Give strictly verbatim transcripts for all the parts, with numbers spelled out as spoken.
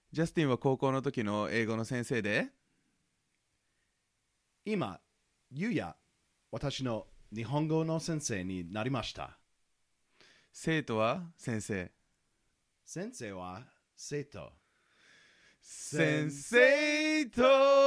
ジャスティンは高校の時の英語の先生で、 今、ゆうや、私の日本語の先生になりました。 生徒は先生。 先生は生徒。 先生と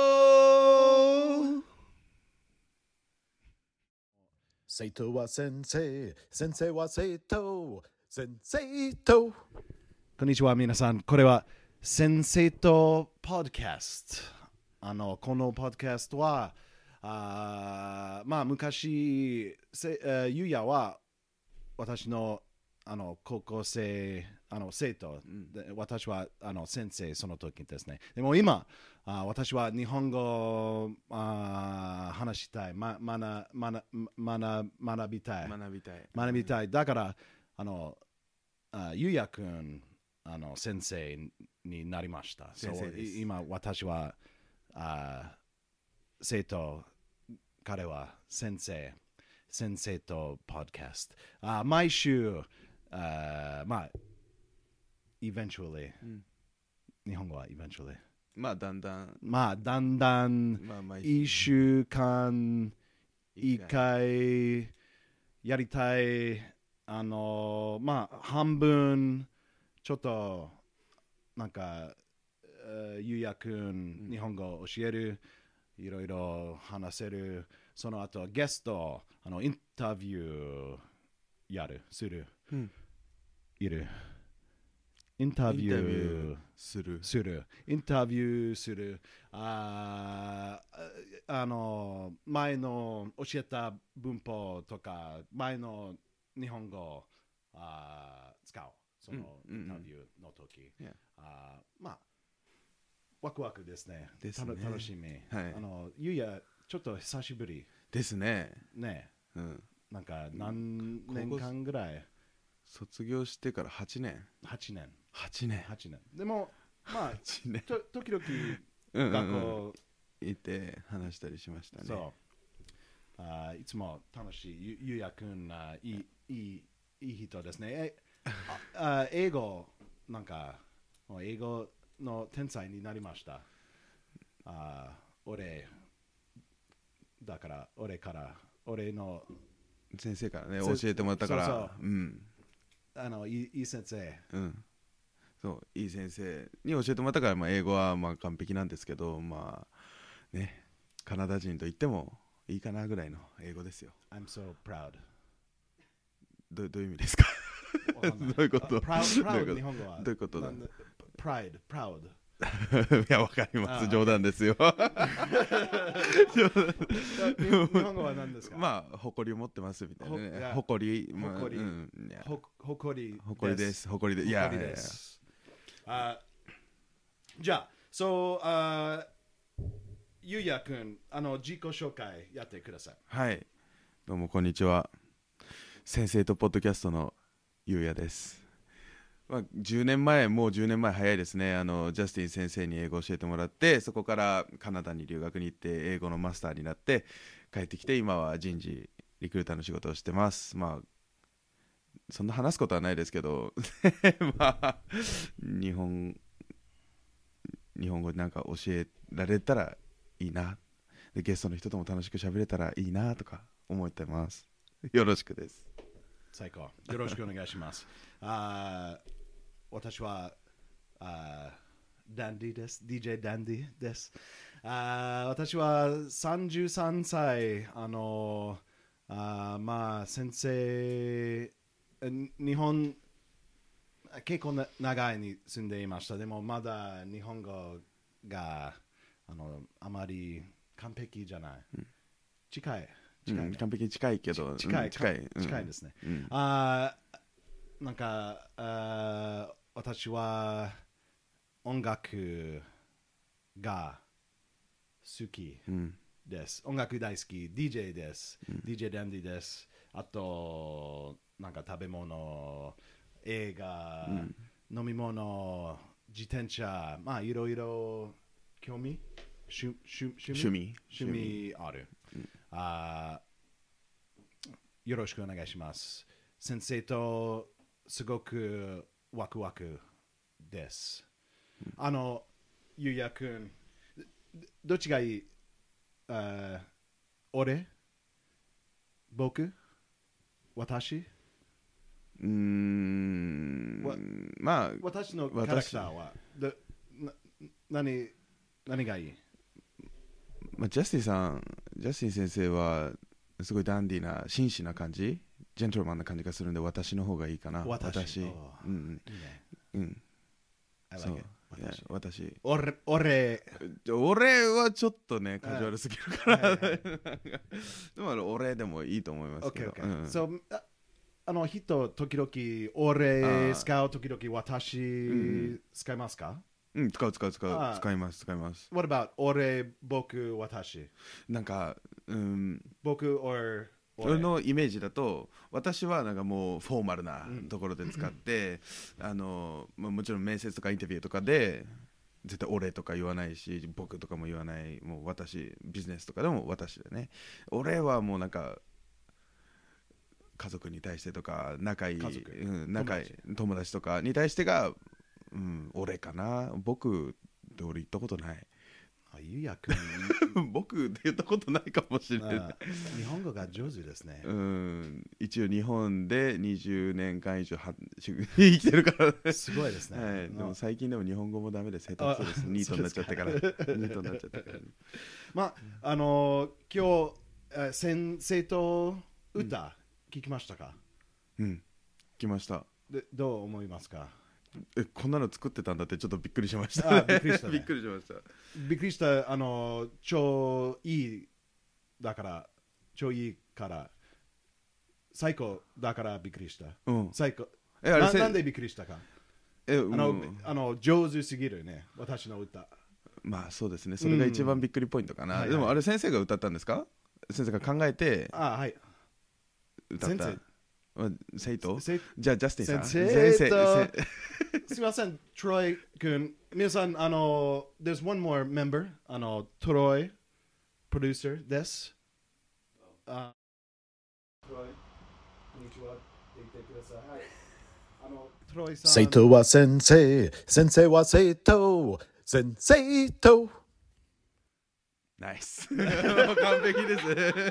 生徒は先生、先生は生徒、先生と。こんにちは、皆さん。これは先生とポッドキャスト。あの、このポッドキャストは、あまあ、昔、せuh, ゆうやは私のあの高校生、あの生徒、うん、で私はあの先生、その時ですね。でも今、あ私は日本語あ話したい、ま、まなまなまな学びたい、 学びたい。 学びたい。だから、あのあゆうやくん、あの先生になりました。 先生です。 今、私はあ生徒、彼は先生。先生とポッドキャスト。あ毎週、あまあ、eventually、うん、日本語は eventually。 まあ、だんだん。 まあ、だんだん、一週間、一回、やりたい、あの、まあ、半分、ちょっと、なんか、ゆうやくん、日本語教える、いろいろ話せる。その後ゲスト、あのインタビューやる、する、うん、いる。インタビューする。 する。インタビューする。ああの、前の教えた文法とか、前の日本語あ使う。そのインタビューの時。うんうんうん、あまあ、ワクワクですね。 ですね。 楽しみ。はい、あの、ゆうや、ちょっと久しぶりですね。 ね、うん、なんか何年間ぐらい卒業してからはちねん。 はちねん。 はちねん。 はちねん。でも、まあ、 年と時々学校行って話したりしましたね。 そう。あいつも楽しい。ゆゆうやくんあいい、いい、いい人ですね。えあ英語、なんか、英語の天才になりました。あ俺、だから、俺から、俺の先生からね、教えてもらったから、 そうそう、 うん、 あのいい、いい先生、 うん、そういい先生に教えてもらったから、まあ、英語はまあ完璧なんですけど、まあね、カナダ人と言ってもいいかなぐらいの英語ですよ。 I'm so proud. ど, どういう意味ですか？どういうこと？ proud, proud 日本語はどういうことだ？ pride, proud。 いや、わかります。冗談ですよ。 日本語は何ですか？ まあ、誇りを持ってますみたいなね。誇り、 誇り、誇り、 誇りです。誇りで、いや、です。 あ、じゃあ、そう、あ、ゆうやくん、あの自己紹介やってください。 はい、どうもこんにちは。先生とポッドキャストのゆうやです。まあ、じゅうねんまえ、もうじゅうねんまえ早いですね。あのジャスティン先生に英語を教えてもらって、そこからカナダに留学に行って英語のマスターになって帰ってきて、今は人事リクルーターの仕事をしてます。まあそんな話すことはないですけどまあ日本日本語なんか教えられたらいいな、でゲストの人とも楽しく喋れたらいいなとか思ってます。よろしくです。 最高。よろしくお願いします。あ私はあダンディです。ディージェー ダンディです。あ私はさんじゅうさんさい、あのあまあ先生、日本結構な長いに住んでいました。でもまだ日本語があのあまり完璧じゃない。うん、近い。近い、ね、 うん、完璧に近いけど近い、 うん、近い、 近いですね。 うん、 あなんかあ私は音楽が好きです、うん、音楽大好き ディージェー です、うん、ディージェー ダンディです。あとなんか食べ物、映画、うん、飲み物、自転車、まあいろいろ興味趣趣趣味趣味ある、うん、あよろしくお願いします。先生とすごくワクワクです。 あの、ゆうやくん、どっちがいい？あ俺？僕？私？ うーんわまあ私のキャラクターはどな何何がいい？ まあ、ジャスティンさん、ジャスティン先生はすごいダンディーな、紳士な感じ、ジェントルマンな感じがするんで、私の方がいいかな。 私。 私。うんうん。 いいね。 うん。 I そう like it. いや私。 私。 俺、俺。 俺はちょっとね、カジュアルすぎるから。でも俺でもいいと思いますけど。 Okay, okay. うん、so, あ, あの人、時々俺使う、時々私、うん、使いますか？ うん、使う使う使う。使います使います。 What about 俺、僕、私？なんか、 うん、 僕、or 俺のイメージだと、私はなんかもうフォーマルなところで使って、うん、あのまあ、もちろん面接とかインタビューとかで絶対俺とか言わないし、僕とかも言わない、もう私、ビジネスとかでも私でね。俺はもうなんか家族に対してとか仲いい、うん、仲いい友達、友達とかに対してが、うん、俺かな。僕って俺言ったことない。 あ、ゆうやくん僕って言ったことないかもしれない。 日本語が上手ですね。 うん、一応日本でにじゅうねんかん以上は生きてるからね。 すごいですね。 はい、でも最近でも日本語もダメで下手くそです。ニートになっちゃってから。ニートになっちゃってから。 まあ、あのー、今日、先生と歌、うん、聞きましたか？ うん、聞きました。 で、どう思いますか？ え、こんなの作ってたんだってちょっとびっくりしました、ね、 あ、びっくりした、ね、 びっくりしました。 びっくりした。あの超いいだから超いいから最高だからびっくりした、 うん、 最高。 え、あれな, なんでびっくりしたか？ え、 あの、うん、あの上手すぎるね、私の歌。 まあそうですね、それが一番びっくりポイントかな、うん、でもあれ先生が歌ったんですか？先生が考えて歌った。 あ、はい、先生生徒じゃあジャスティンさん先生とすみません、トロイ君。皆さん、あの、there's one more member、あの、トロイ、プロデューサーです。あ、トロイ、こんにちは。言ってください。はい。あの、トロイさん。生徒は先生、先生は生徒、先生と。 ナイス。完璧です。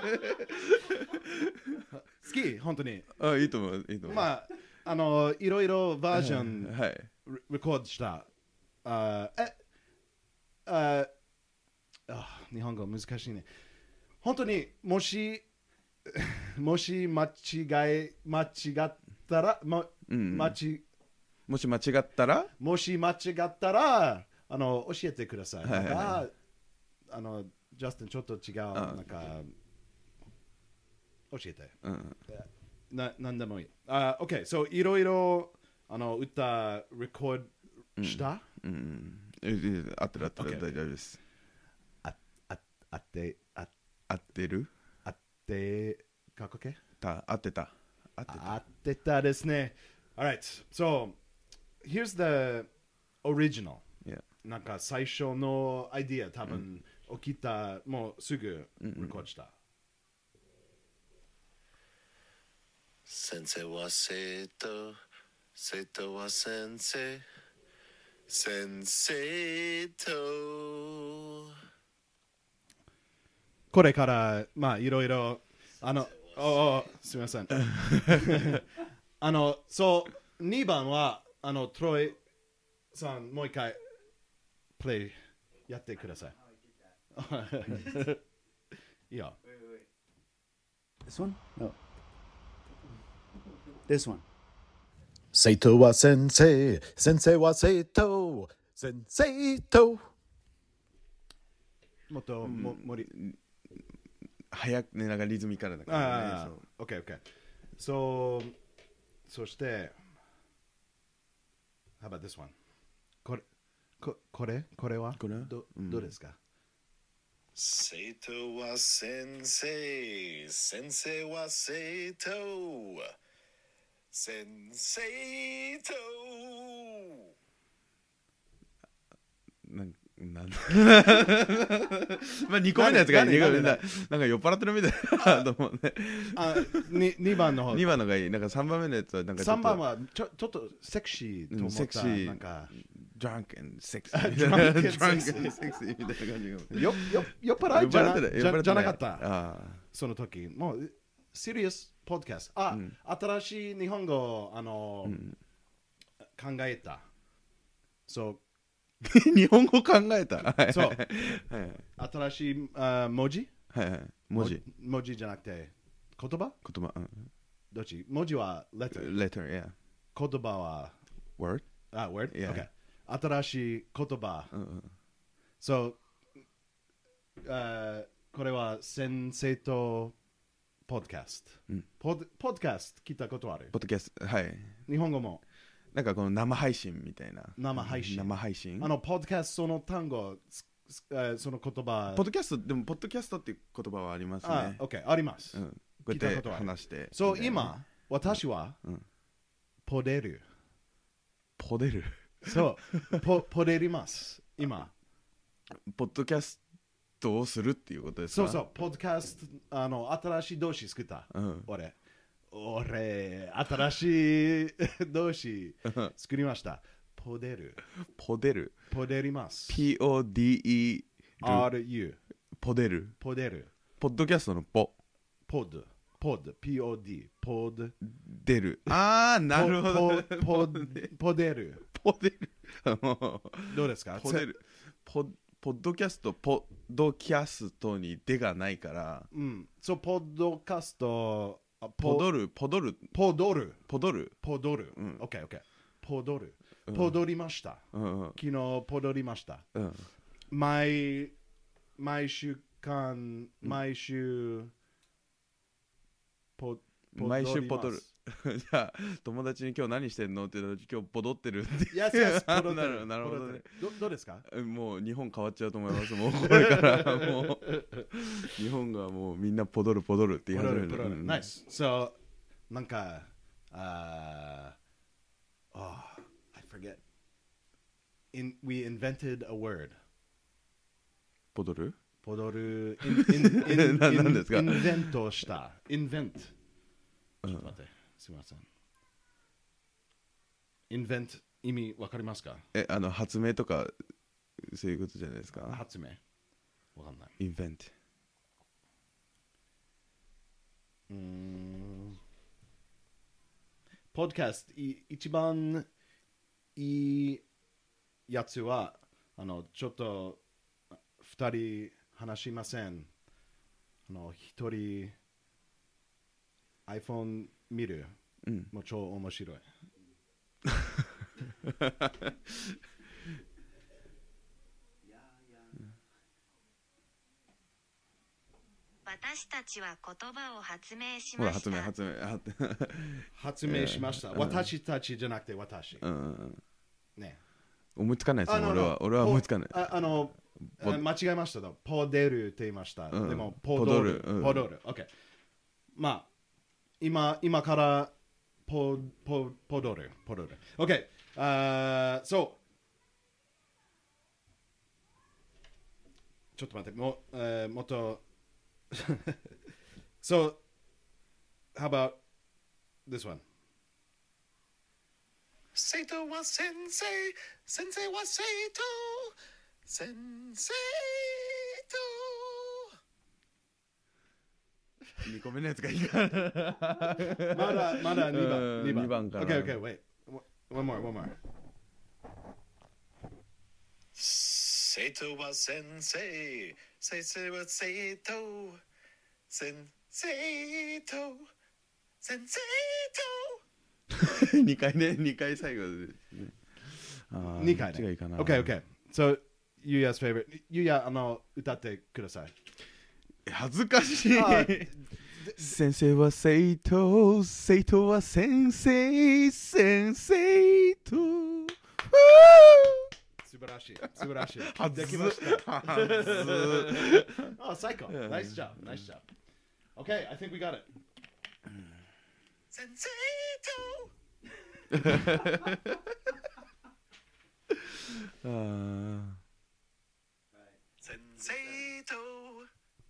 好き、本当に。 あ、いいと思う、いいと思う。 まあ、あの、いろいろバージョン、 はい、 レコードした。あ、え、あ、あ、日本語難しいね。本当にもし、もし間違い、間違ったら、ま、うん、間違もし間違ったらもし間違ったら、あの、教えてください。なんか、あの、ジャスティンちょっと違う、なんか、教えて。うん、な、なんでもいい。あ、uh, OK。そう、いろいろ、あの、歌、レコードした、 うんうん、合ってる合ってる、大丈夫です。 あ、あ、あって、あ、 合ってる合って、かっこけた、合ってた。 合ってた。合ってたですね。Alright. So, here's the original. Yeah. なんか最初のアイディア、多分、うん、起きた、もうすぐレコードした。うんうん、 先生は生徒、生徒は先生、先生と。 これから、まあ、いろいろ、あの、おすみません。あの、そう、にばんは、あの、トロイさん、もう一回、プレイやってください。いいよ。 This one? No. This one. 生徒は先生、先生は生徒、先生と。もっと、も、もり。 早くね、なんかリズミカルな感じ、ね。 ああ、OK、OK。そう、そして、How about this one? これ、ここれ、これはこれど、うん、どうですか？ 生徒は先生、先生は生徒、先生と。 なんなんまあにこめのやつがいい。なんか酔っ払ってるみたいなと思うね。 あ、ににばんの方。 にばんのがいい。なんかさんばんめのやつはなんかさんばんはちょちょっとセクシーと思った。 セクシー。 なんか drunk and sexy drunk and drunk and sexy みたいな感じがよよ酔っ払いじゃな酔っ払ってたじゃ酔っ払ってじゃなかった。 ああその時。もう、シリアスポッドキャスト。あ、 うん新しい日本語、あの、 うん考えた。そう。 日本語考えたはいそうはいはい新しいあ文字はいはい文字文字じゃなくて言葉言葉うんどっち文字は letter letter yeah 言葉は word あ word? Yeah. Okay 新しい言葉うんうん So あこれは先生とポッドキャストうんポッポッドキャスト聞いたことあるポッドキャストはい日本語もなんかこの生配信みたいな生配信生配信あのポッドキャストその単語すすあその言葉ポッドキャストでもポッドキャストっていう言葉はありますあね OK ありますうんこうやって聞いたことある話してそうみたいな今私はうんポデルポデルそうポポデります今ポッドキャストをするっていうことですかそうそうポッドキャストあの新しい動詞作ったうん俺俺新しい動詞作りましたポデルポデルポデりますピーオーディーイー ル RU ポデルポデルポッドキャストのポポッドポッド ピーオーディー ポッドデルああなるほどポポポポデルポデルもうどうですかポデルポポッドキャストポッドキャストに「で」がないからうんそうポッドキャストあポドルポドルポドルポドルポドルうんオッケーオッケーポドルうんポドりましたうんうん昨日ポドりましたうん毎毎週間毎週ポ毎週ポドルりますじゃあ友達に今日何してんのって言ったら今日ポドってるって Yes, yes ポドってなるるなるほどねどどうですかもう日本変わっちゃうと思いますもうこれからもう日本がもうみんなポドルポドルって言い始めるポドルポドルうん Nice So なんかあー Oh I forget In, We invented a word ポドルポドル in, in, in, な in, 何ですかインベントしたインベントちうんょっと待ってすみませんインベント意味わかりますかえあの発明とかそういうことじゃないですか発明わかんないインベントうーんポッドキャストい一番いいやつはあのちょっと二人話しませんあの一人 iPhone 見るうんもう超面白い私たちは言葉を発明しほらました。 発明発明あ発明しました、私たちじゃなくて私、 うんうんね思いつかないですあのよ俺は俺は思いつかないああのポあ間違えましたとポデルって言いました、 うんでもポドルポドルうんポドル OK まあ今今からポポポドルポドル OK あーそうちょっと待っても,、えー、もっとSo how about this one Sato wa sensei, sensei wa Sato, sensei to. にこめのやつがいいかなまだまだにばんうんにばんにばんから OK OK wait one more one more Sato wa sensei, sensei wa Sato, sensei to, sensei to. にかいねにかい最後であーにかいねどっちがいいかな OK OK So ゆうや 's favorite ゆうやあの歌ってください恥ずかしいあ先生は生徒生徒は先生先生と素晴らしい素晴らしいはずできましたはずあ最高 Nice job Nice job OK I think we got it Sensei to. あー Sensei to.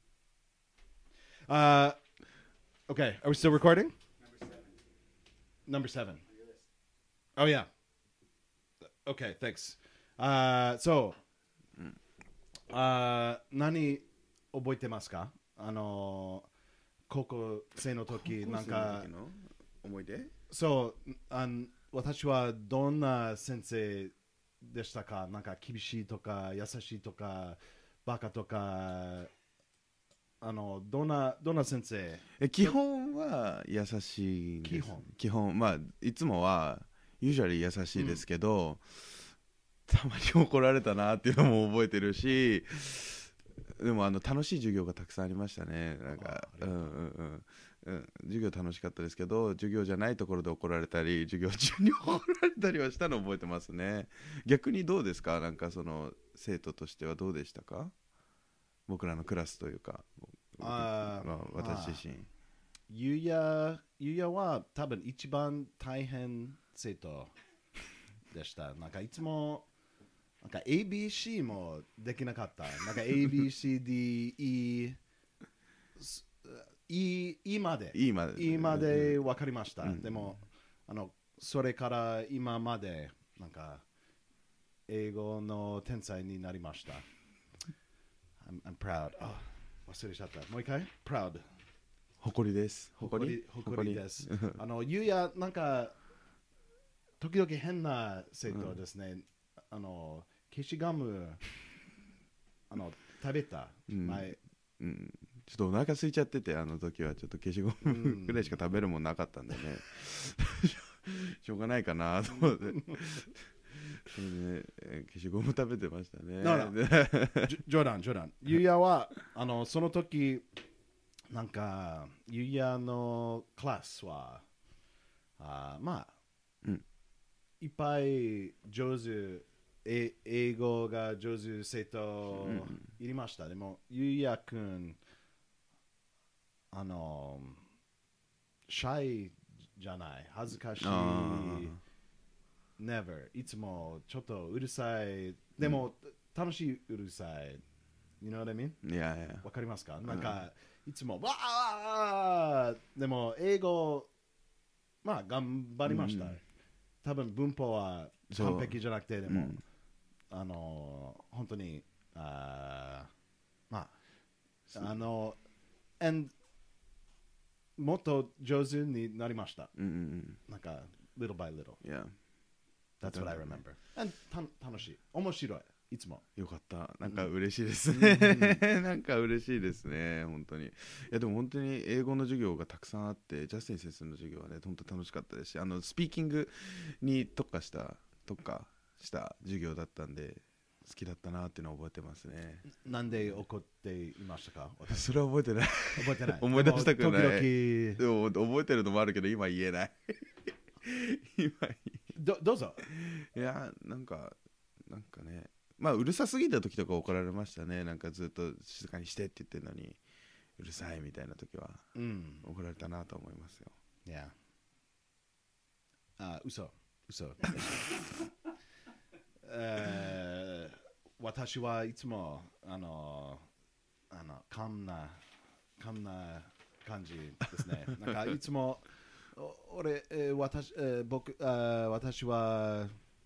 Uh, okay, are we still recording? Number seven. Number seven. Oh yeah. Okay, thanks. あーそう、うん、あー何覚えてますか？あの高校生の時なんか思い出？ そうあん私はどんな先生でしたか？なんか厳しいとか優しいとかバカとかあのどんなどんな先生？ え基本は優しいんです。 基本基本まあいつもはユージュアリー優しいですけど、うん、たまに怒られたなっていうのも覚えてるし、でもあの楽しい授業がたくさんありましたね。なんかうんうんうんうん、授業楽しかったですけど、授業じゃないところで怒られたり授業中に怒られたりはしたのを覚えてますね。逆にどうですか？なんかその生徒としてはどうでしたか？僕らのクラスというか、 あ、 まあ、私自身。 ゆうやゆうやは多分一番大変生徒でした。なんかいつもなんか エービーシー もできなかった。なんか エービーシーディーイーE まで E まで E まで分かりました。 うん、 でもあのそれから今までなんか英語の天才になりました。I'm, I'm proud. あ、忘れちゃった。もう一回 proud。 誇りです。 誇り誇りです。あのゆうやなんか時々変な生徒ですね。うん、あの消しガムあの食べた前。 うんうんちょっとお腹空いちゃってて、あの時はちょっと消しゴムぐらいしか食べるもんなかったんでねしょうがないかなと思ってそれで、ね、消しゴム食べてましたね。 冗談冗談。ゆうやはあのその時なんかゆうやのクラスはあまあ、うん、いっぱい上手え英語が上手生徒いりました。でもゆうやくんあのシャイじゃない恥ずかしい never いつもちょっとうるさいでも、うん、楽しいうるさい you know what I mean? いやいやわかりますか？なんか、うん、いつもわーでも英語まあ頑張りました、うん、多分文法は完璧じゃなくてでも、うん、あの本当にあまああの andもっと上手になりました。 うんうん、 なんか、little by little. Yeah. That's what I remember. And た楽しい。面白い。いつも。 よかった。なんか嬉しいですね。うん、なんか嬉しいですね。本当に。いやでも本当に英語の授業がたくさんあって、ジャスティン先生の授業はね、本当楽しかったですし、あのスピーキングに特化した特化した授業だったんで。好きだったなっていうのを覚えてますね。 なんで怒っていましたか？ それは覚えてない。 覚えてない。 思い出したくない。 時 々でも覚えてるのもあるけど今言えない。今どどうぞ。 いやなんかなんかね、まあうるさすぎた時とか怒られましたね。なんかずっと静かにしてって言ってるのにうるさいみたいな時は、うん、怒られたなと思いますよ。 いや。あ、嘘嘘。えー、私はいつもあのあのカンなカンな感じですね。なんかいつも俺、えー、私、えー、僕あ私は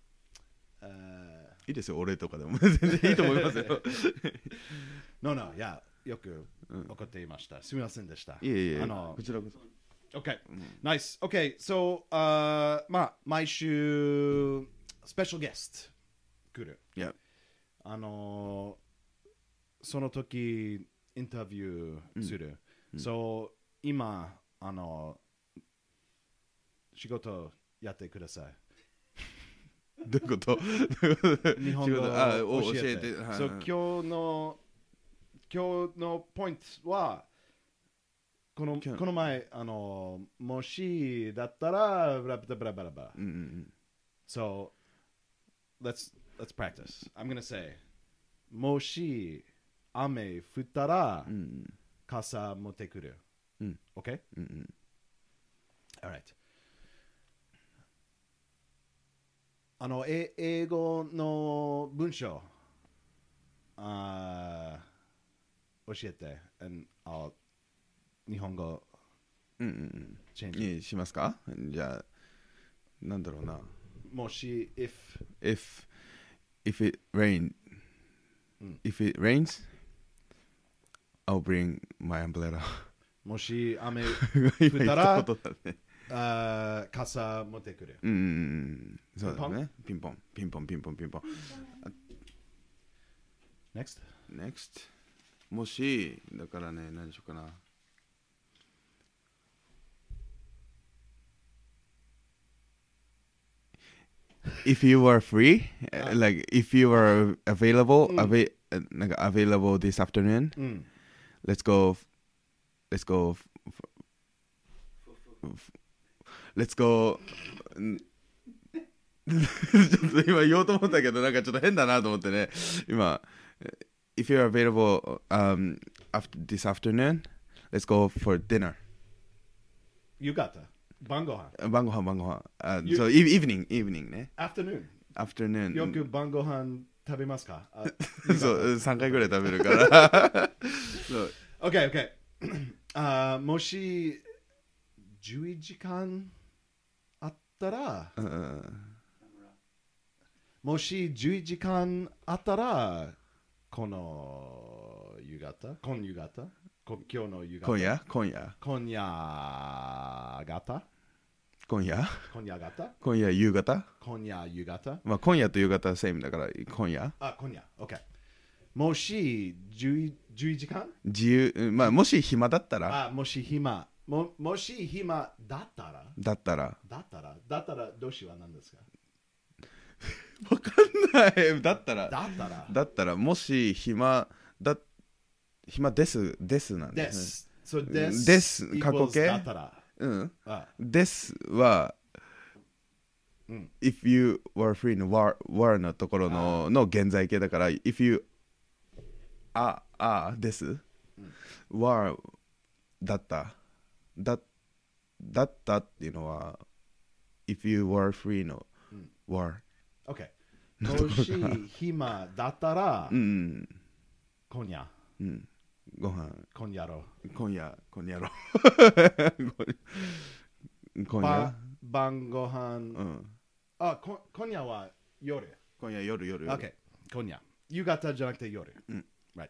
いいですよ俺とかでも全然いいと思いますよ。 no no いやよく怒っていました。すみませんでした。 いえいえあのこちらこそ。 Okay, nice. Okay, so あ、uh, まあ毎週スペシャルゲスト来る。 Yeah. あのその時インタビューする。うん、そう、今あの仕事やってください。 どういうこと？ 日本語を教えて。そう、今日の今日のポイントはこのこの前あのもしだったらブラブラブラブラブラ。 うんうんうん。 So let's let's practice. I'm gonna say もし雨降ったら、うん、傘持ってくる。うん、OK? うんうん。Alright. あのえ英語の文章あ教えて、and I'll 日本語うんうんうんチェンジにしますか？じゃあなんだろうな。 もし if if if it rain, if it rains, I'll bring my umbrella. もし雨降今言ったったらことだね。 あー傘持ってくる。 うんうんうん。そうだね。ピンポン、ピンポン、ピンポン、ピンポン。 Next? Next. もし、だからね、何しようかな。If you were free, uh, like if you were available, ava- uh, なんか available this afternoon, うん。 let's go, let's go, let's go. んちょっと今言おうと思ったけど、なんかちょっと変だなと思ってね。今、if you're available um, after this afternoon, let's go for dinner. 夕方。晩ご飯。 晩ご飯、晩ご飯。あ、 You- そう、イ evening、evening ね。 Afternoon。 afternoon。 よく晩ご飯食べますか？あそう、さんかいぐらい食べるから。そう。 OK, OK あーもしじゅういちじかんあったら、 うんもしじゅういちじかんあったら、この夕方今夕方こ今日の夕方今夜今夜今夜方今夜今夜方今夜夕方今夜夕方まあ今夜と夕方はセームだから今夜あ、今夜 OK もしじゅういちじかん自由、うんまあもし暇だったらあ、もし暇ももし暇だったらだったらだったらだったら動詞は何ですかわかんないだったらだったらだったらもし暇だ暇ですですなんでですねす。そうです。 です過去 equals 形だったら。 うんあですは、 うん if you were free の were, were のところのの現在形だから if you ああです、were だっただだったっていうのは if you were free の were OK。もし暇だったらう、ん今夜、 うんご飯今夜ろ今夜今夜ろう。 今夜ば晩ご飯、 うんあ、こ今夜は夜。 今夜夜夜夜 OK。今夜。夕方じゃなくて夜。 うん Right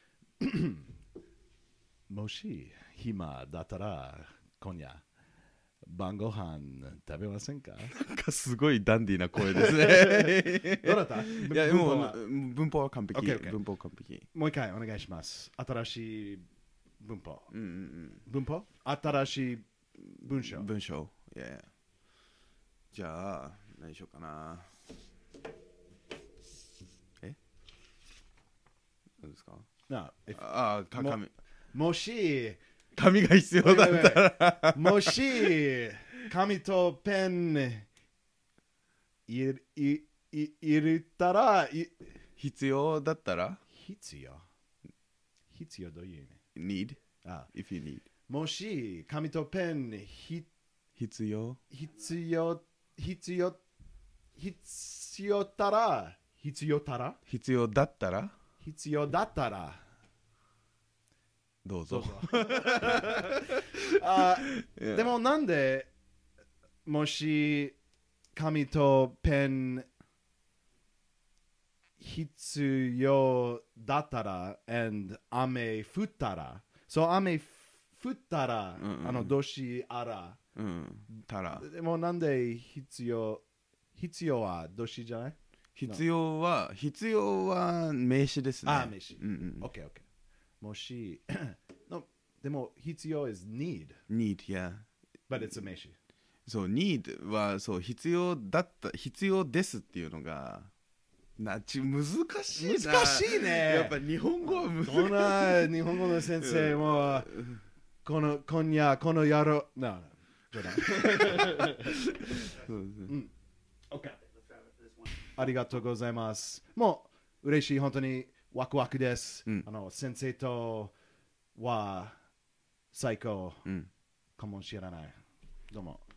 もし暇だったら、今夜、晩ご飯食べませんかなんかすごいダンディーな声ですねどうだったいやも文法はう文法は完璧 OK OK 文法完璧もう一回お願いします。新しい文法。 うんうん文法新しい文章うん。文章いやいやじゃあ何しようかなえ何ですか No, if- ああかも紙もし、 紙が必要だったらもし、紙とペンいいい入れたら、い必要だったら必要。必要どういう意味 need あ if you need もし、紙とペンひ必要必要、必要、必要たら、必要たら、 必要だったら必要だったら、 どうぞあいやでもなんでもし紙とペン必要だったら and 雨降ったらそう雨降ったら、 うんうんあの動詞あらうんたらでもなんで必要必要は動詞じゃない必要は必要は名詞ですねあ名詞うんうん ?OKOK もしのでも必要 is need need yeah but it's a 名詞そう need はそう必要だった必要ですっていうのがなち難しいな難しいねやっぱ日本語は難しいどんな日本語の先生もこの今夜この野郎なあ冗談そうですね OK ありがとうございますもう嬉しい本当にワクワクです、 うんあの先生とは最高うんかもしれないどうも